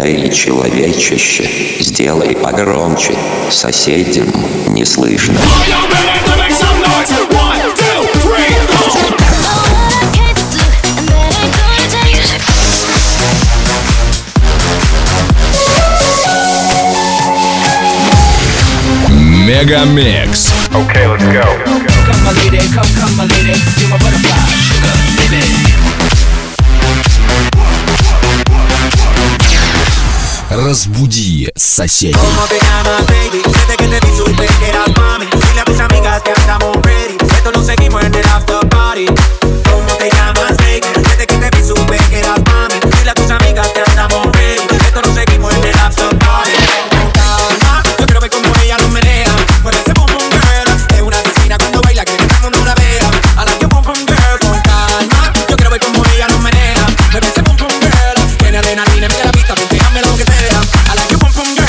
Эй, человечище, сделай погромче, соседям не слышно. Мегамикс. Okay, let's go. Come my lady, come my lady, you're my butterfly, sugar, baby. Разбуди соседей. ¿Cómo te llamas, baby? Desde que te vi supe que eras mami. Dile a tus amigas que andamos ready. Esto lo seguimos en el after party. ¿Cómo te llamas, baby? Desde que te vi supe que eras mami. Dile a tus amigas que andamos ready. Esto lo seguimos en el after party. Con calma, yo quiero ver cómo ella lo menea. Mueve ese boom boom girl. Es una asesina cuando baila, quiere que todo el mundo la vea. I like your boom boom girl. Con calma, yo quiero ver cómo ella lo menea. Mueve ese boom boom girl. Tiene adrenalina, mira la vista, déjame lo que sea. I like your boom boom girl.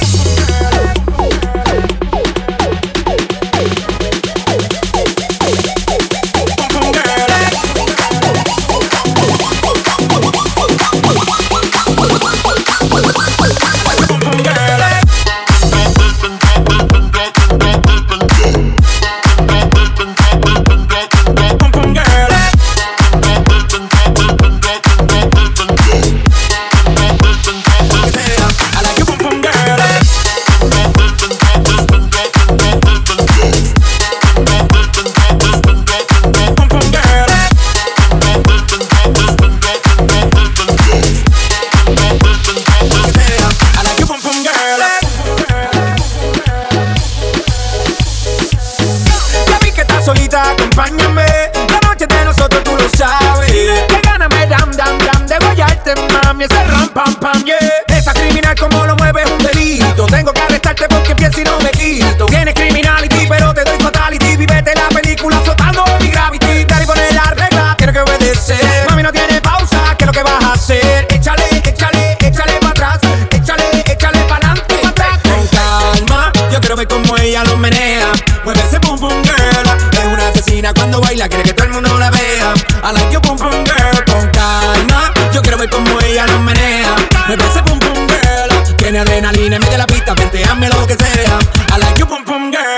Solita, acompáñame. La noche de nosotros tú lo sabes. Que gana me dam, dam, dam de guayarte, mami. Ese ram, pam, pam, yeah. Esa criminal como lo mueve es un delito. Tengo que arrestarte porque pienso y no me quito. Tienes criminality, pero te doy fatality. Vívete la película flotando en mi gravity. Dale y poner la regla, quiero que obedecer. Mami, no tiene pausa, ¿qué es lo que vas a hacer? Échale, échale, échale para atrás. Échale, échale para adelante, para atrás. Con calma, yo quiero ver cómo ella lo menea. Mueve ese boom boom girl. Cuando baila quiere que todo el mundo la vea. I like your boom boom girl. Con calma, yo quiero ver cómo ella lo menea. Me parece boom boom girl. Tiene adrenalina, mete la pista, vente, hazme lo que sea. I like your boom boom girl.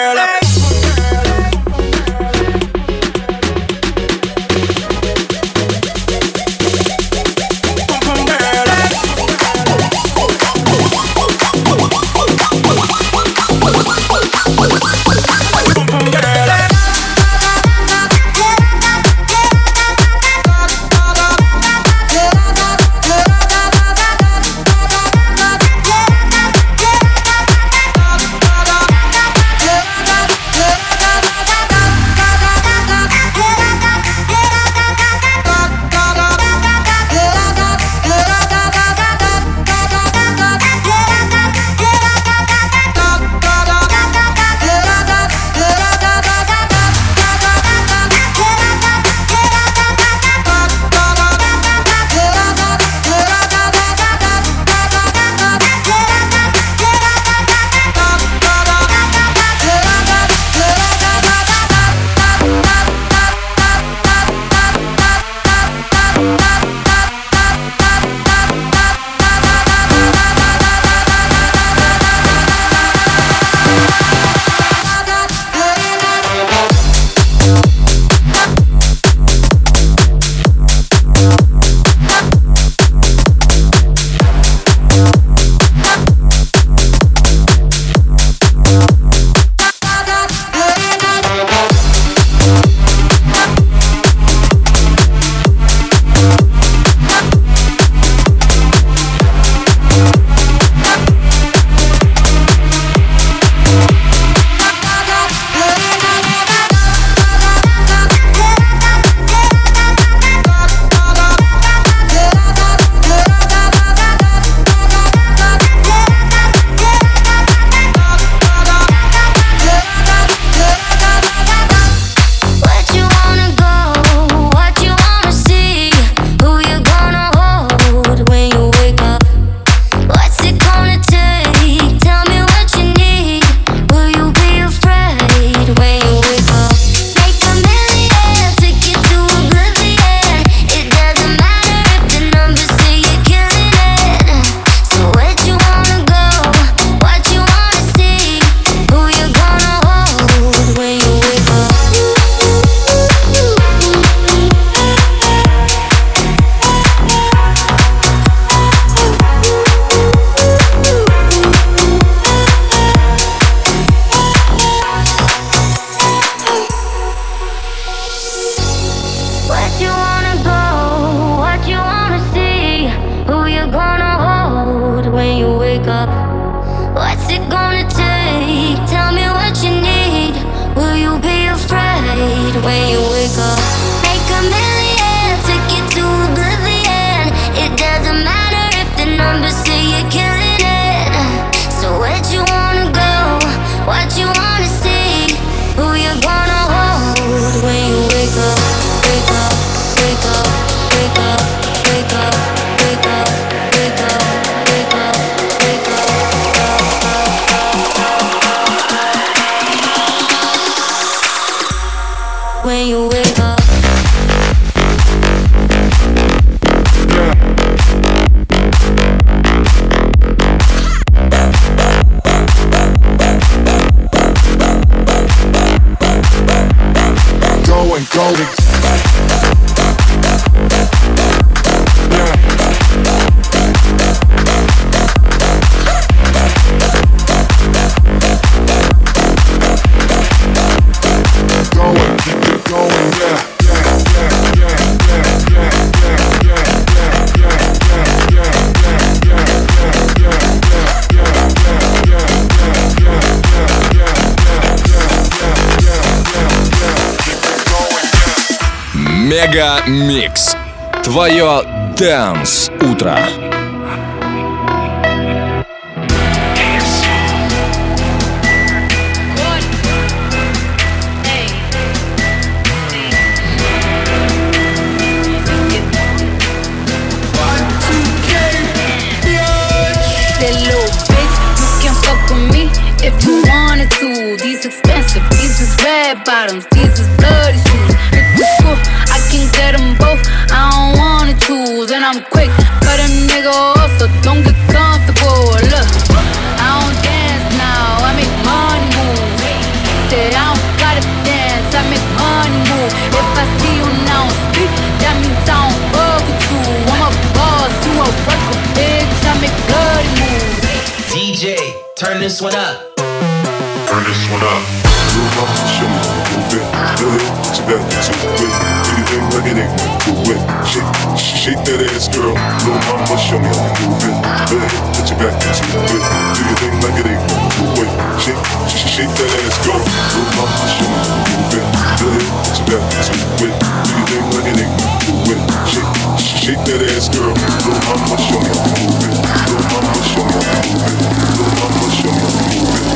Мега Микс. Твое Dance утро. If you wanted to, these expensive, these is red bottoms, these is bloody shoes. Hit the school, I can get them both, I don't wanna choose. And I'm quick, cut a nigga off, so don't get comfortable. Look, I don't dance now, I make money move. Said I don't gotta dance, I make money move. If I see you now speak, that means I don't fuck with you. I'm a boss, you a worker, bitch, I make bloody moves. DJ, turn this one up. Turn this one up. Little mama, show me, move it. Do it, what you got to do it. Do your thing like it ain't do it. Shake that ass, girl. Little mama, show me how you move it. Do it, what you got to do it. Do your thing like it ain't do it. Shake that ass, girl. Little mama, show me how you move it. Do it, what you got to do it. Do your thing like it ain't do it. Shake that ass, girl. Little mama, show me how you move it. Little mama, show me how you move it. Little mama, show me how you move it.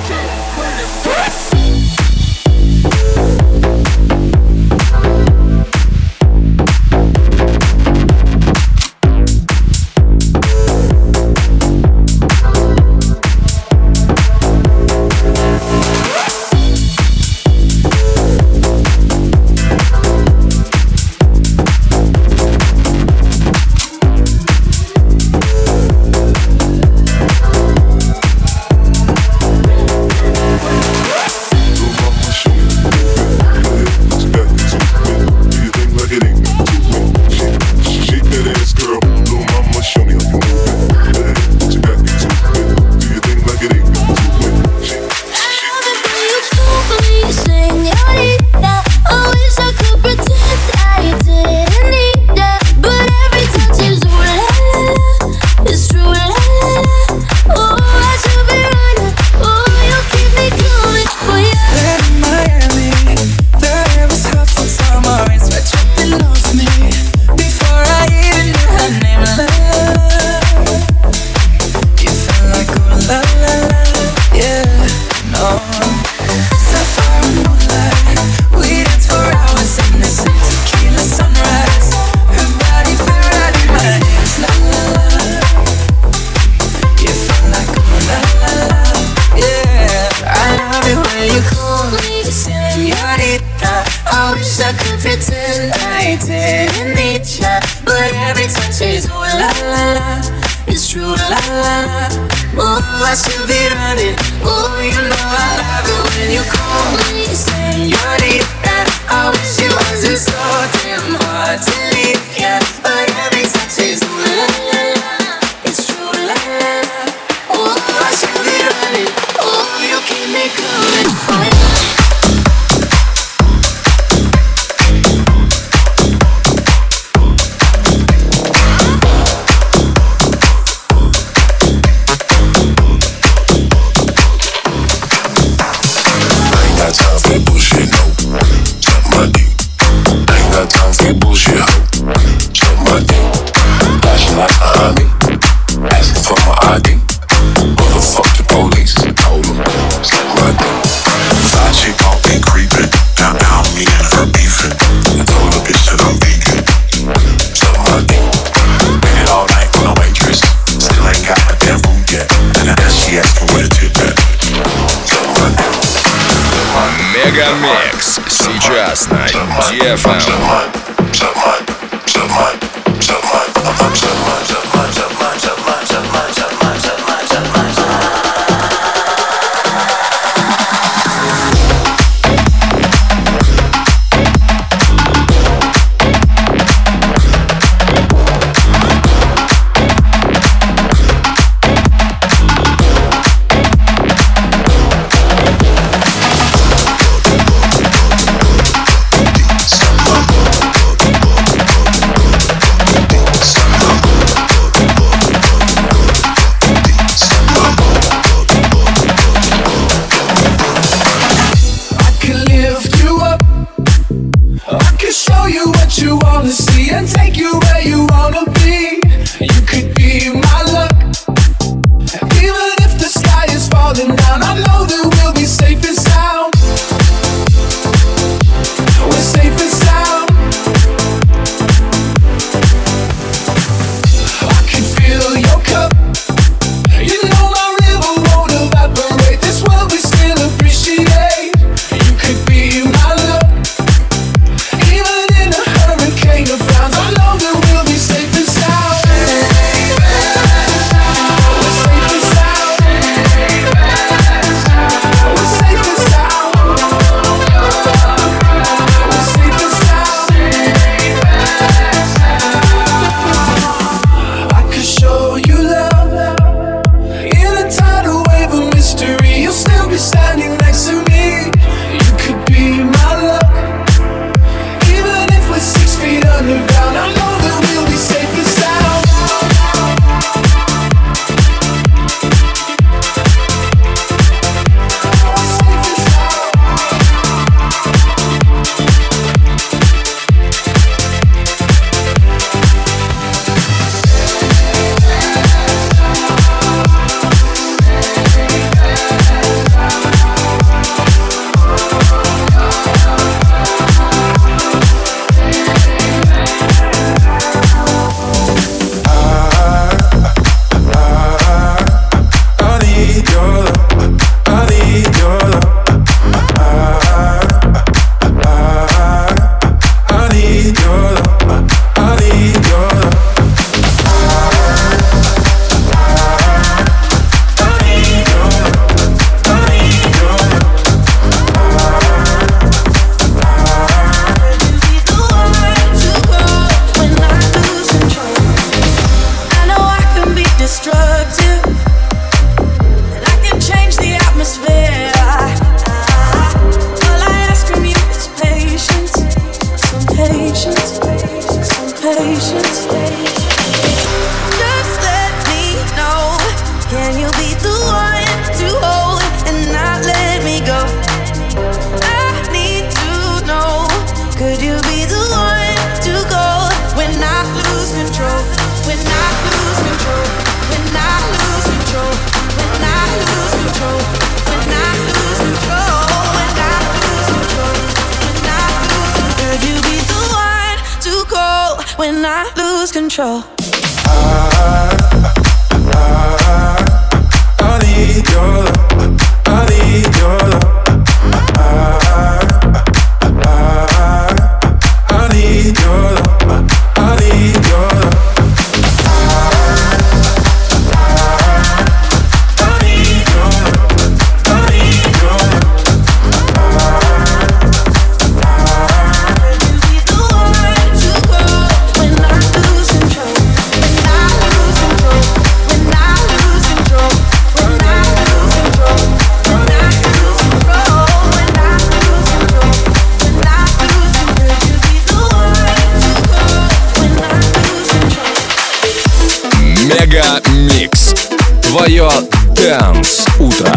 Мегамикс сейчас на DFM. Can you be the one to hold and not let me go? I need to know. Could you be the one to go when I lose control? When I lose control? When I lose control? When I lose control? When I lose control? When I lose control? When I lose control? Could you be the one to go when I lose control? I need your love. I need your love. I need your love. I need your love. I need your love. I need your love. Could you be the one to go when I lose control? When I lose control? When I lose control? When I lose control? When I lose control? When I lose control? When I lose control? Could you be the one to go when I lose control? Мега Микс. Твое Dance утро.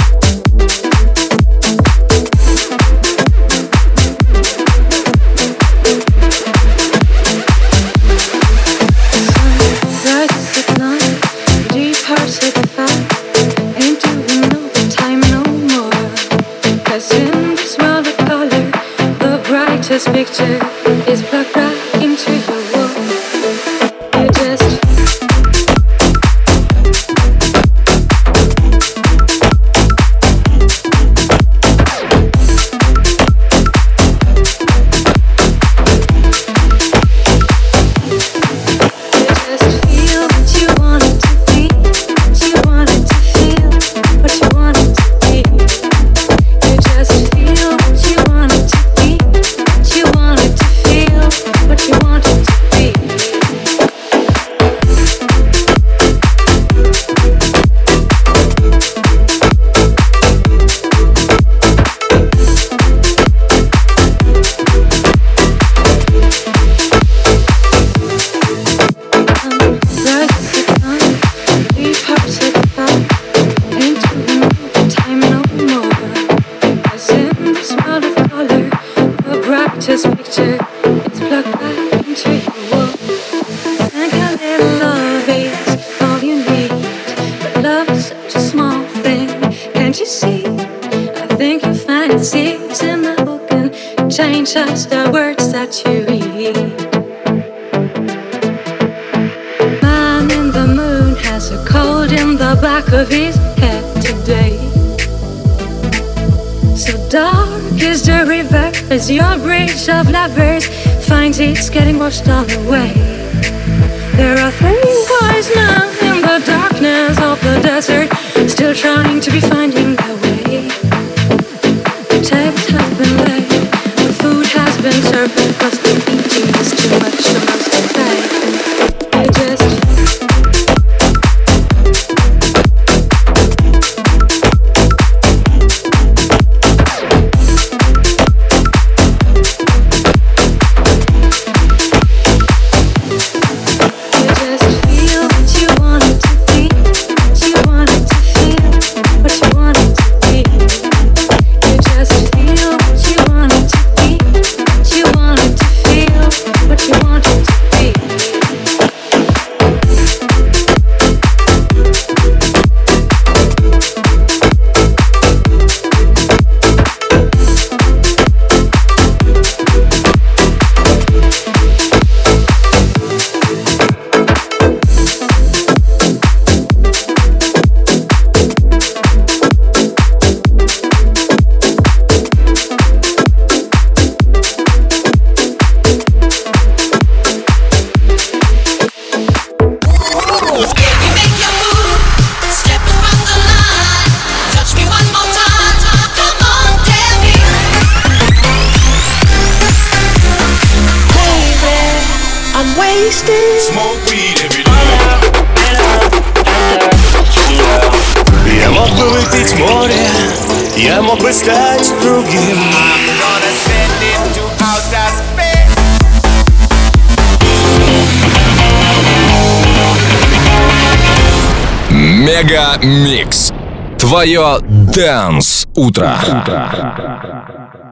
Rises at night, deep hearts at the fire. Ain't doing overtime no more. 'Cause in this world of color, the brightest picture is plugged right into your wall. You just feel what you wanted to be, what you wanted to feel, what you wanted to be. You just feel what you wanted to be, what you wanted to feel, what you wanted to be. Rises at night, deep hearts at the fire. Ain't doing overtime no more. 'Cause in this world of color, the brightest picture is plugged right into your wall. Think a little love is all you need, but love is such a small thing. Can't you see? I think you'll find it seeds in the book and change just the words that you read. Man in the moon has a cold in the back of his head today. So dark is the river as your bridge of lovers finds it's getting washed all away. There are 3 wise men in the darkness of the desert, still trying to be finding their way. The tables have been laid, the food has been served, because the eating is too much, the most they pay. I just feel what you wanted to be, what you wanted to feel, what you wanted to be. You just feel what you wanted to be, what you wanted to feel, what you wanted to be. Smoke weed every day. Я мог бы выпить море, я мог бы стать другим. Мега Микс. Твое Dance утро.